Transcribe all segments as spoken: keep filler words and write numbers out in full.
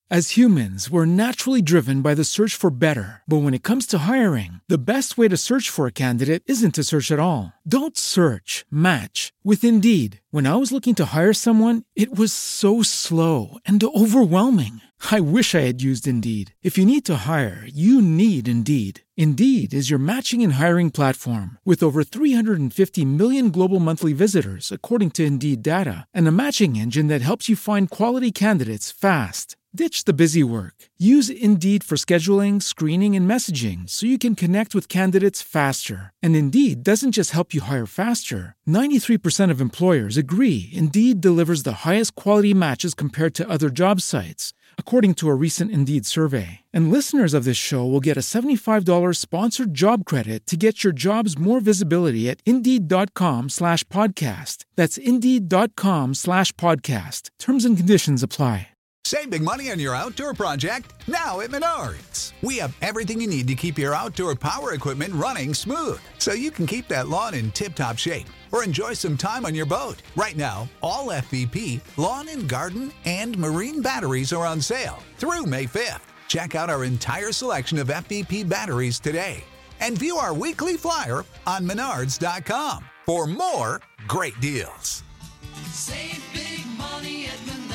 As humans, we're naturally driven by the search for better. But when it comes to hiring, the best way to search for a candidate isn't to search at all. Don't search, match with Indeed. When I was looking to hire someone, it was so slow and overwhelming. I wish I had used Indeed. If you need to hire, you need Indeed. Indeed is your matching and hiring platform with over three hundred fifty million global monthly visitors, according to Indeed data, and a matching engine that helps you find quality candidates fast. Ditch the busy work. Use Indeed for scheduling, screening, and messaging so you can connect with candidates faster. And Indeed doesn't just help you hire faster. ninety-three percent of employers agree Indeed delivers the highest quality matches compared to other job sites, according to a recent Indeed survey. And listeners of this show will get a seventy-five dollars sponsored job credit to get your jobs more visibility at Indeed.com slash podcast. That's Indeed.com slash podcast. Terms and conditions apply. Save big money on your outdoor project now at Menards. We have everything you need to keep your outdoor power equipment running smooth so you can keep that lawn in tip-top shape or enjoy some time on your boat. Right now, all F V P, lawn and garden, and marine batteries are on sale through May fifth. Check out our entire selection of F V P batteries today and view our weekly flyer on Menards dot com for more great deals. Save big money at Menards.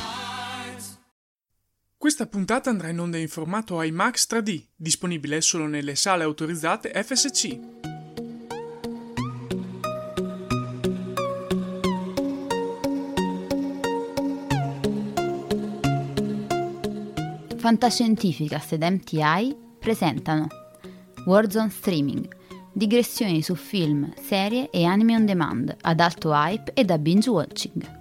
Questa puntata andrà in onda in formato IMAX tre D, disponibile solo nelle sale autorizzate F S C. Fantascientificast ed M T I presentano Warzone Streaming, digressioni su film, serie e anime on demand ad alto hype e da binge watching.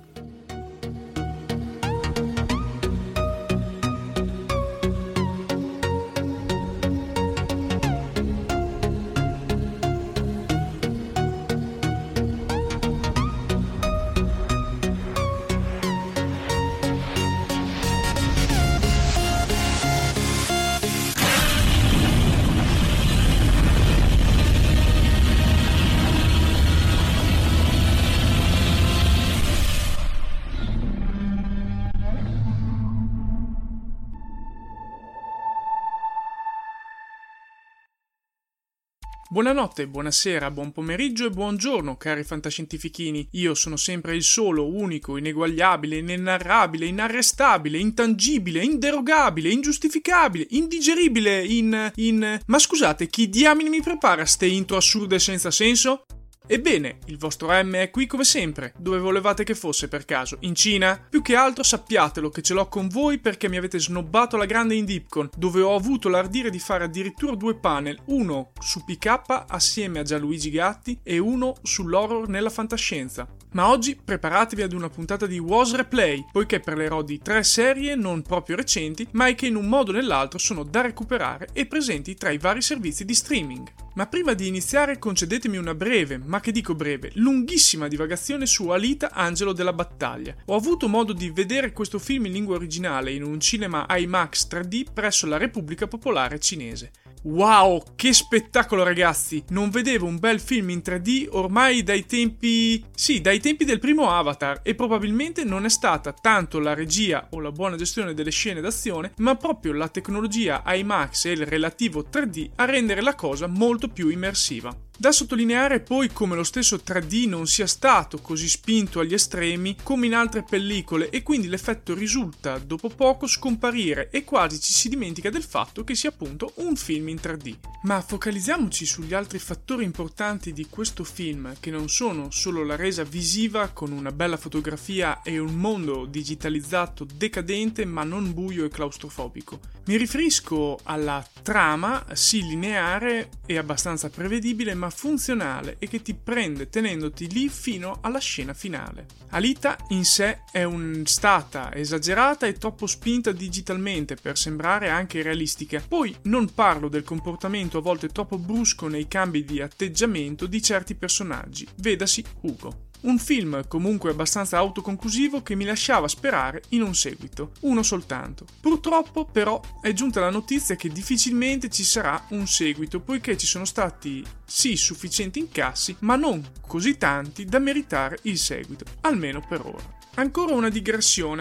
Buonanotte, buonasera, buon pomeriggio e buongiorno, cari fantascientifichini. Io sono sempre il solo, unico, ineguagliabile, inenarrabile, inarrestabile, intangibile, inderogabile, ingiustificabile, indigeribile, in... in... Ma scusate, chi diamine mi prepara ste intro assurde senza senso? Ebbene, il vostro M è qui come sempre. Dove volevate che fosse per caso? In Cina? Più che altro sappiatelo che ce l'ho con voi perché mi avete snobbato alla grande in Dipcon, dove ho avuto l'ardire di fare addirittura due panel, uno su P K assieme a Gianluigi Gatti e uno sull'horror nella fantascienza. Ma oggi preparatevi ad una puntata di Was Replay, poiché parlerò di tre serie non proprio recenti, ma che in un modo o nell'altro sono da recuperare e presenti tra i vari servizi di streaming. Ma prima di iniziare concedetemi una breve, ma che dico breve, lunghissima divagazione su Alita Angelo della Battaglia. Ho avuto modo di vedere questo film in lingua originale in un cinema IMAX tre D presso la Repubblica Popolare Cinese. Wow, che spettacolo ragazzi! Non vedevo un bel film in tre D ormai dai tempi... sì, dai tempi del primo Avatar, e probabilmente non è stata tanto la regia o la buona gestione delle scene d'azione, ma proprio la tecnologia IMAX e il relativo tre D a rendere la cosa molto più immersiva. Da sottolineare poi come lo stesso tre D non sia stato così spinto agli estremi come in altre pellicole e quindi l'effetto risulta dopo poco scomparire e quasi ci si dimentica del fatto che sia appunto un film in tre D. Ma focalizziamoci sugli altri fattori importanti di questo film, che non sono solo la resa visiva con una bella fotografia e un mondo digitalizzato decadente ma non buio e claustrofobico. Mi riferisco alla trama, sì lineare e abbastanza prevedibile, ma funzionale e che ti prende tenendoti lì fino alla scena finale. Alita in sé è un, stata esagerata e troppo spinta digitalmente per sembrare anche realistica. Poi non parlo del comportamento a volte troppo brusco nei cambi di atteggiamento di certi personaggi, vedasi Hugo. Un film comunque abbastanza autoconclusivo che mi lasciava sperare in un seguito, uno soltanto. Purtroppo però è giunta la notizia che difficilmente ci sarà un seguito, poiché ci sono stati sì sufficienti incassi, ma non così tanti da meritare il seguito, almeno per ora. Ancora una digressione.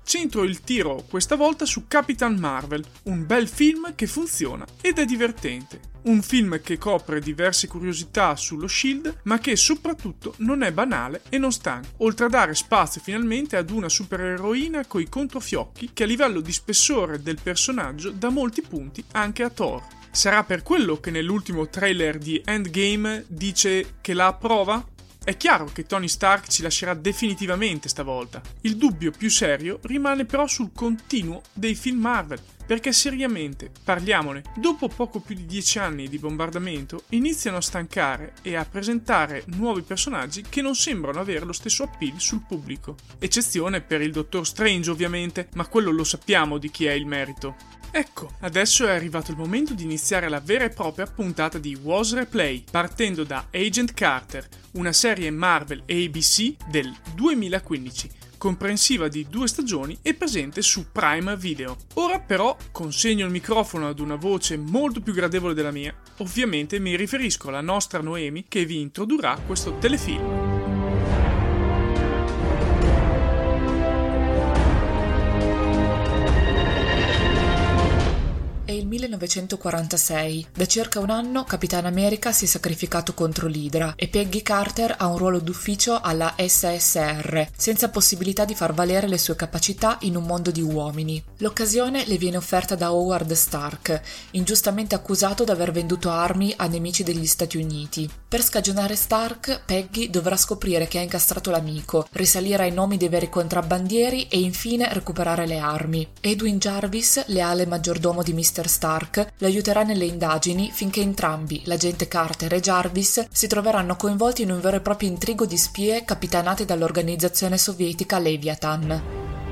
Centro il tiro questa volta su Capitan Marvel, un bel film che funziona ed è divertente. Un film che copre diverse curiosità sullo Shield, ma che soprattutto non è banale e non stanca, oltre a dare spazio finalmente ad una supereroina coi controfiocchi che a livello di spessore del personaggio dà molti punti anche a Thor. Sarà per quello che nell'ultimo trailer di Endgame dice che la approva? È chiaro che Tony Stark ci lascerà definitivamente stavolta. Il dubbio più serio rimane però sul continuo dei film Marvel, perché seriamente, parliamone, dopo poco più di dieci anni di bombardamento iniziano a stancare e a presentare nuovi personaggi che non sembrano avere lo stesso appeal sul pubblico. Eccezione per il Dottor Strange ovviamente, ma quello lo sappiamo di chi è il merito. Ecco, adesso è arrivato il momento di iniziare la vera e propria puntata di Was Replay, partendo da Agent Carter, una serie Marvel A B C del duemilaquindici, comprensiva di due stagioni e presente su Prime Video. Ora però consegno il microfono ad una voce molto più gradevole della mia, ovviamente mi riferisco alla nostra Noemi che vi introdurrà questo telefilm. È il millenovecentoquarantasei. Da circa un anno Capitan America si è sacrificato contro l'Hydra e Peggy Carter ha un ruolo d'ufficio alla S S R, senza possibilità di far valere le sue capacità in un mondo di uomini. L'occasione le viene offerta da Howard Stark, ingiustamente accusato di aver venduto armi a nemici degli Stati Uniti. Per scagionare Stark, Peggy dovrà scoprire che ha incastrato l'amico, risalire ai nomi dei veri contrabbandieri e infine recuperare le armi. Edwin Jarvis, leale maggiordomo di mister Stark, lo aiuterà nelle indagini finché entrambi, l'agente Carter e Jarvis, si troveranno coinvolti in un vero e proprio intrigo di spie capitanate dall'organizzazione sovietica Leviathan.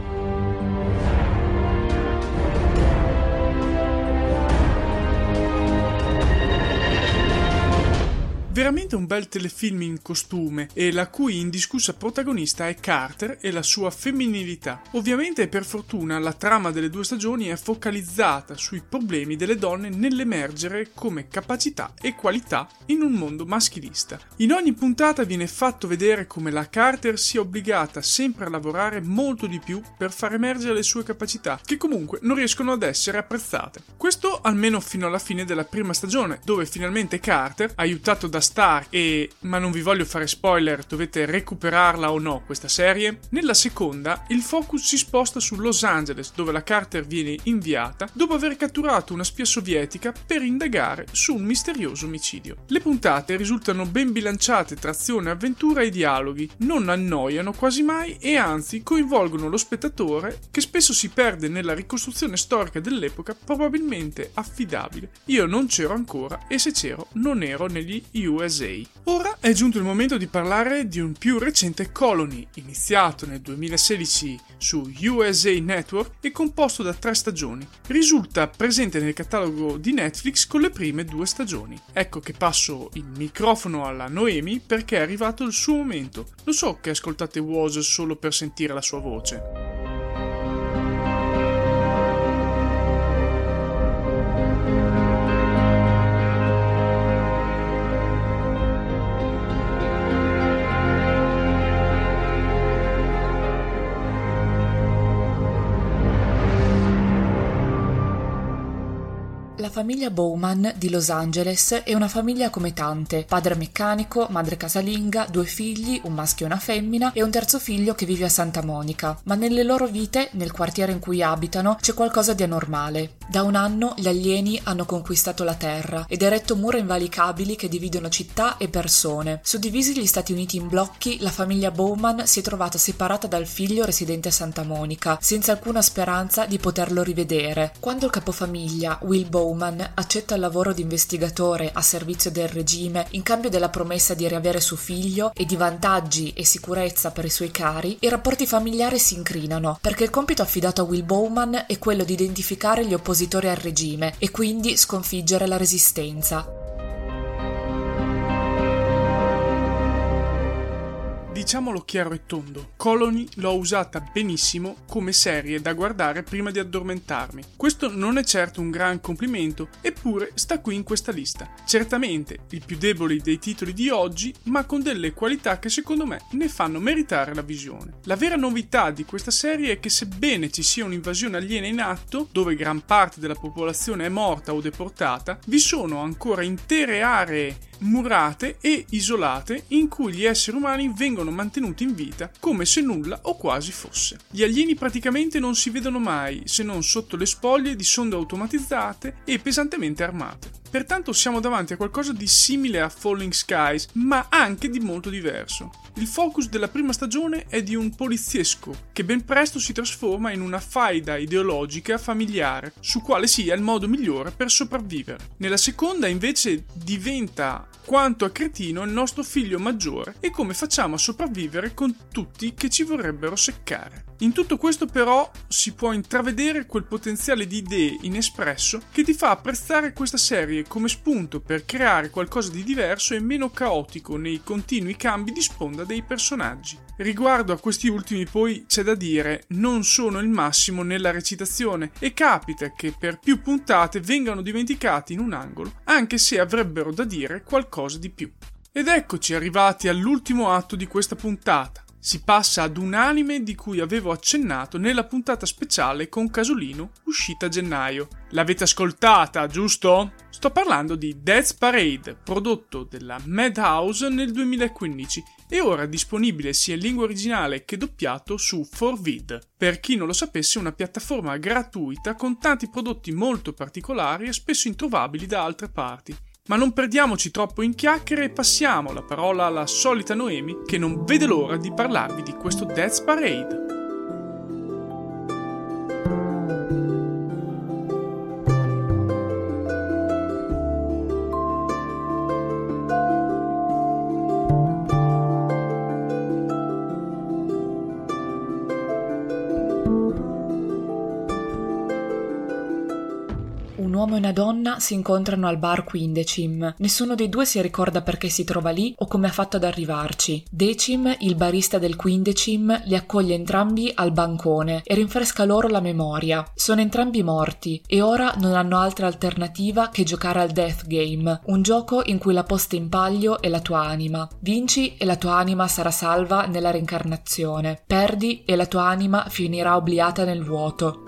Veramente un bel telefilm in costume e la cui indiscussa protagonista è Carter e la sua femminilità. Ovviamente per fortuna la trama delle due stagioni è focalizzata sui problemi delle donne nell'emergere come capacità e qualità in un mondo maschilista. In ogni puntata viene fatto vedere come la Carter sia obbligata sempre a lavorare molto di più per far emergere le sue capacità, che comunque non riescono ad essere apprezzate. Questo almeno fino alla fine della prima stagione, dove finalmente Carter, aiutato da Stark e, ma non vi voglio fare spoiler, dovete recuperarla o no questa serie, nella seconda il focus si sposta su Los Angeles, dove la Carter viene inviata dopo aver catturato una spia sovietica per indagare su un misterioso omicidio. Le puntate risultano ben bilanciate tra azione, avventura e dialoghi, non annoiano quasi mai e anzi coinvolgono lo spettatore che spesso si perde nella ricostruzione storica dell'epoca probabilmente affidabile. Io non c'ero ancora e se c'ero non ero negli U S A. Ora è giunto il momento di parlare di un più recente Colony, iniziato nel duemilasedici su U S A Network e composto da tre stagioni. Risulta presente nel catalogo di Netflix con le prime due stagioni. Ecco che passo il microfono alla Noemi perché è arrivato il suo momento. Lo so che ascoltate Was solo per sentire la sua voce. La famiglia Bowman di Los Angeles è una famiglia come tante: padre meccanico, madre casalinga, due figli, un maschio e una femmina e un terzo figlio che vive a Santa Monica. Ma nelle loro vite, nel quartiere in cui abitano, c'è qualcosa di anormale. Da un anno gli alieni hanno conquistato la Terra ed eretto mura invalicabili che dividono città e persone. Suddivisi gli Stati Uniti in blocchi, la famiglia Bowman si è trovata separata dal figlio residente a Santa Monica, senza alcuna speranza di poterlo rivedere. Quando il capofamiglia, Will Bowman, accetta il lavoro di investigatore a servizio del regime in cambio della promessa di riavere suo figlio e di vantaggi e sicurezza per i suoi cari, i rapporti familiari si incrinano, perché il compito affidato a Will Bowman è quello di identificare gli oppositori al regime e quindi sconfiggere la resistenza. diciamolo chiaro e tondo, Colony l'ho usata benissimo come serie da guardare prima di addormentarmi. Questo non è certo un gran complimento, eppure sta qui in questa lista. Certamente il più debole dei titoli di oggi, ma con delle qualità che secondo me ne fanno meritare la visione. La vera novità di questa serie è che sebbene ci sia un'invasione aliena in atto, dove gran parte della popolazione è morta o deportata, vi sono ancora intere aree murate e isolate in cui gli esseri umani vengono mantenuti in vita come se nulla o quasi fosse. Gli alieni praticamente non si vedono mai, se non sotto le spoglie di sonde automatizzate e pesantemente armate. Pertanto siamo davanti a qualcosa di simile a Falling Skies, ma anche di molto diverso. Il focus della prima stagione è di un poliziesco che ben presto si trasforma in una faida ideologica familiare su quale sia il modo migliore per sopravvivere. Nella seconda invece diventa quanto a cretino il nostro figlio maggiore e come facciamo a sopravvivere con tutti che ci vorrebbero seccare. In tutto questo però si può intravedere quel potenziale di idee inespresso che ti fa apprezzare questa serie come spunto per creare qualcosa di diverso e meno caotico nei continui cambi di sponda dei personaggi. Riguardo a questi ultimi poi c'è da dire non sono il massimo nella recitazione e capita che per più puntate vengano dimenticati in un angolo anche se avrebbero da dire qualcosa di più. Ed eccoci arrivati all'ultimo atto di questa puntata. Si passa ad un anime di cui avevo accennato nella puntata speciale con Casolino uscita a gennaio. L'avete ascoltata, giusto? Sto parlando di Death Parade, prodotto dalla Madhouse nel duemilaquindici e ora disponibile sia in lingua originale che doppiato su four vid. Per chi non lo sapesse, una piattaforma gratuita con tanti prodotti molto particolari e spesso introvabili da altre parti. Ma non perdiamoci troppo in chiacchiere e passiamo la parola alla solita Noemi che non vede l'ora di parlarvi di questo Death Parade. Un uomo e una donna si incontrano al bar qui in Decim. Nessuno dei due si ricorda perché si trova lì o come ha fatto ad arrivarci. Decim, il barista del qui in Decim, li accoglie entrambi al bancone e rinfresca loro la memoria. Sono entrambi morti e ora non hanno altra alternativa che giocare al Death Game, un gioco in cui la posta in palio è la tua anima. Vinci e la tua anima sarà salva nella reincarnazione. Perdi e la tua anima finirà obliata nel vuoto.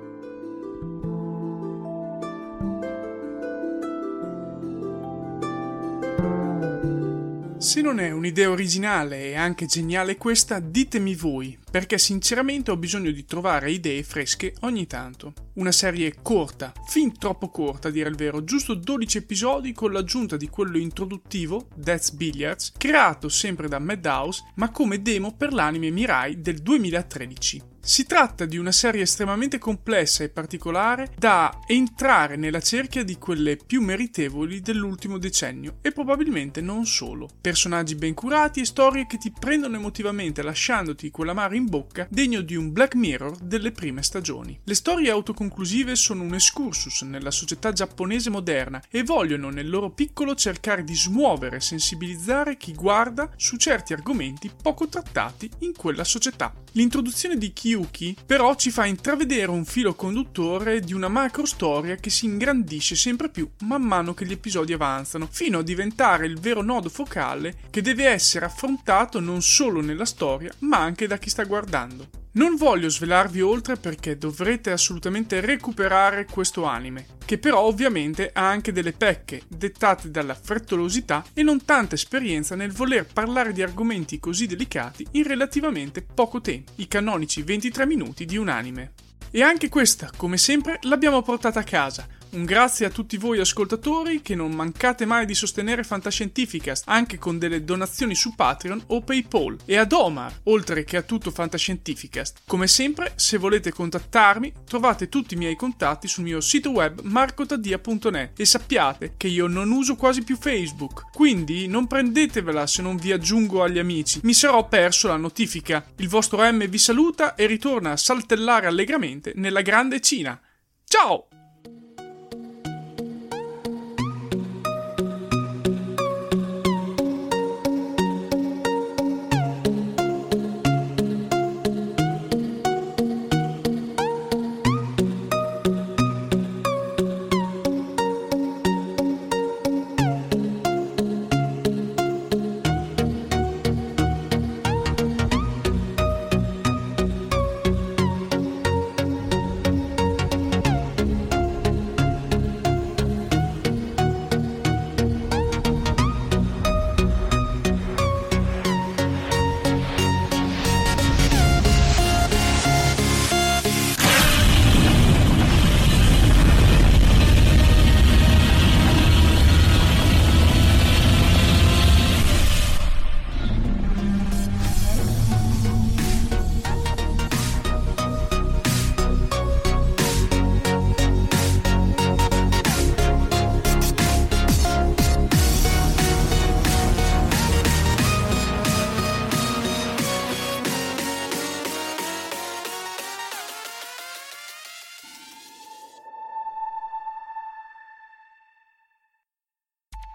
Se non è un'idea originale e anche geniale questa, ditemi voi, perché sinceramente ho bisogno di trovare idee fresche ogni tanto. Una serie corta, fin troppo corta a dire il vero, giusto dodici episodi con l'aggiunta di quello introduttivo, Death's Billiards, creato sempre da Madhouse, ma come demo per l'anime Mirai del duemilatredici. Si tratta di una serie estremamente complessa e particolare da entrare nella cerchia di quelle più meritevoli dell'ultimo decennio e probabilmente non solo. Personaggi ben curati e storie che ti prendono emotivamente lasciandoti quell'amaro in bocca degno di un Black Mirror delle prime stagioni. Le storie autoconclusive sono un excursus nella società giapponese moderna e vogliono nel loro piccolo cercare di smuovere e sensibilizzare chi guarda su certi argomenti poco trattati in quella società. L'introduzione di Kyuki però ci fa intravedere un filo conduttore di una macro storia che si ingrandisce sempre più man mano che gli episodi avanzano, fino a diventare il vero nodo focale che deve essere affrontato non solo nella storia ma anche da chi sta guardando. Non voglio svelarvi oltre perché dovrete assolutamente recuperare questo anime, che però ovviamente ha anche delle pecche, dettate dalla frettolosità e non tanta esperienza nel voler parlare di argomenti così delicati in relativamente poco tempo, i canonici ventitré minuti di un anime. E anche questa, come sempre, l'abbiamo portata a casa. Un grazie a tutti voi ascoltatori che non mancate mai di sostenere Fantascientificast anche con delle donazioni su Patreon o PayPal, e ad Omar, oltre che a tutto Fantascientificast. Come sempre, se volete contattarmi, trovate tutti i miei contatti sul mio sito web marcotadia punto net e sappiate che io non uso quasi più Facebook, quindi non prendetevela se non vi aggiungo agli amici, mi sarò perso la notifica. Il vostro M vi saluta e ritorna a saltellare allegramente nella grande Cina. Ciao!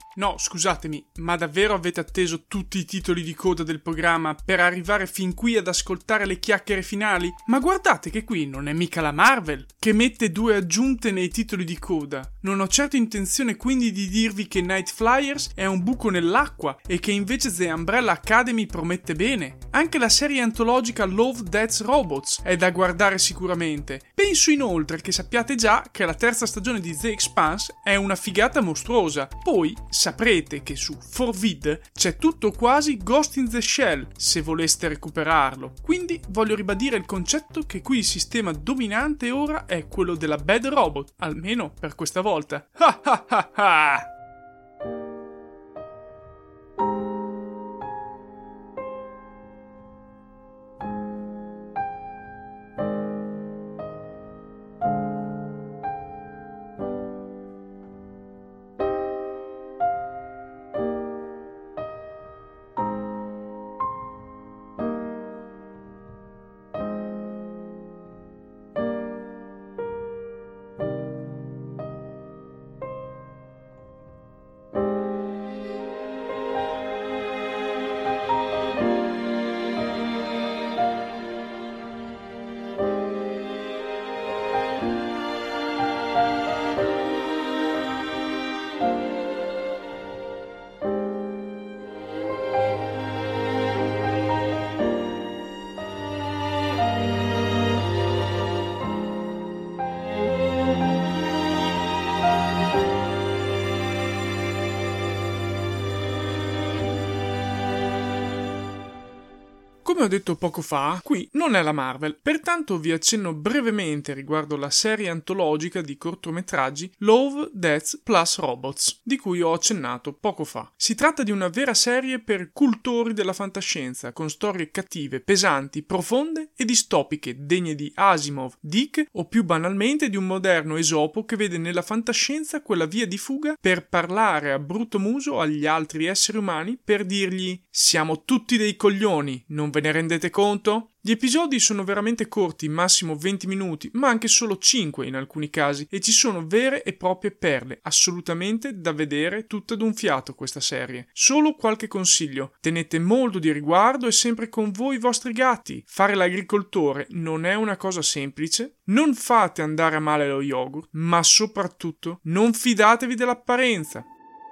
No, scusatemi, ma davvero avete atteso tutti i titoli di coda del programma per arrivare fin qui ad ascoltare le chiacchiere finali? Ma guardate che qui non è mica la Marvel, che mette due aggiunte nei titoli di coda. Non ho certo intenzione quindi di dirvi che Night Flyers è un buco nell'acqua e che invece The Umbrella Academy promette bene. Anche la serie antologica Love, Death, Robots è da guardare sicuramente. Penso inoltre che sappiate già che la terza stagione di The Expanse è una figata mostruosa. Poi saprete che su four vid c'è tutto quasi Ghost in the Shell se voleste recuperarlo. Quindi voglio ribadire il concetto che qui il sistema dominante ora è quello della bad robot, almeno per questa volta. Ha ha ha ha! Come ho detto poco fa, qui non è la Marvel, pertanto vi accenno brevemente riguardo la serie antologica di cortometraggi Love, Death plus Robots, di cui ho accennato poco fa. Si tratta di una vera serie per cultori della fantascienza, con storie cattive, pesanti, profonde e distopiche, degne di Asimov, Dick o più banalmente di un moderno Esopo che vede nella fantascienza quella via di fuga per parlare a brutto muso agli altri esseri umani per dirgli «Siamo tutti dei coglioni, non ve ne rendete conto?» Gli episodi sono veramente corti, massimo venti minuti, ma anche solo cinque in alcuni casi, e ci sono vere e proprie perle, assolutamente da vedere tutta d'un fiato questa serie. Solo qualche consiglio: tenete molto di riguardo e sempre con voi i vostri gatti. Fare l'agricoltore non è una cosa semplice, non fate andare a male lo yogurt, ma soprattutto non fidatevi dell'apparenza.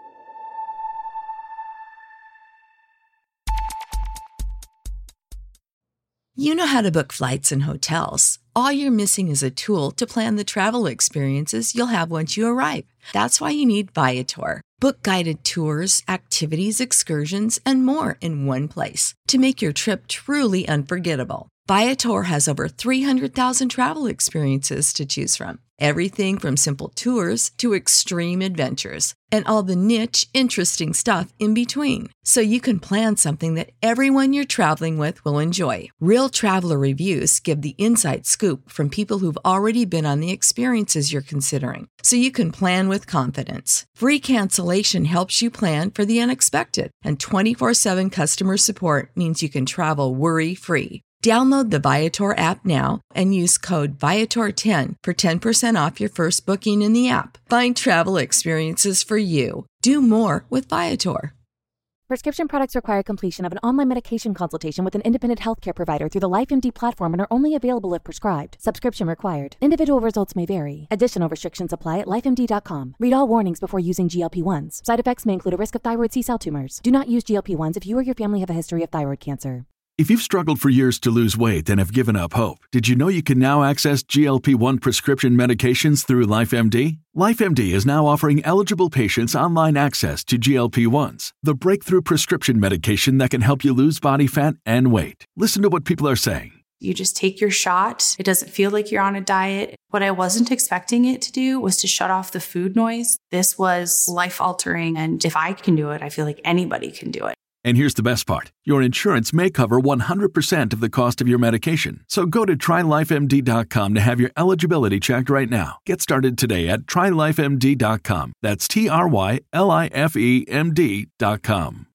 You know how to book flights and hotels. All you're missing is a tool to plan the travel experiences you'll have once you arrive. That's why you need Viator. Book guided tours, activities, excursions, and more in one place to make your trip truly unforgettable. Viator has over three hundred thousand travel experiences to choose from. Everything from simple tours to extreme adventures and all the niche, interesting stuff in between. So you can plan something that everyone you're traveling with will enjoy. Real traveler reviews give the inside scoop from people who've already been on the experiences you're considering. So you can plan with confidence. Free cancellation helps you plan for the unexpected. And twenty-four seven customer support means you can travel worry-free. Download the Viator app now and use code Viator ten for ten percent off your first booking in the app. Find travel experiences for you. Do more with Viator. Prescription products require completion of an online medication consultation with an independent healthcare provider through the LifeMD platform and are only available if prescribed. Subscription required. Individual results may vary. Additional restrictions apply at life M D dot com. Read all warnings before using G L P ones. Side effects may include a risk of thyroid C-cell tumors. Do not use G L P ones if you or your family have a history of thyroid cancer. If you've struggled for years to lose weight and have given up hope, did you know you can now access G L P one prescription medications through LifeMD? LifeMD is now offering eligible patients online access to G L P ones, the breakthrough prescription medication that can help you lose body fat and weight. Listen to what people are saying. You just take your shot. It doesn't feel like you're on a diet. What I wasn't expecting it to do was to shut off the food noise. This was life-altering, and if I can do it, I feel like anybody can do it. And here's the best part. Your insurance may cover one hundred percent of the cost of your medication. So go to try life M D dot com to have your eligibility checked right now. Get started today at try life M D dot com. That's T R Y L I F E M D dot com.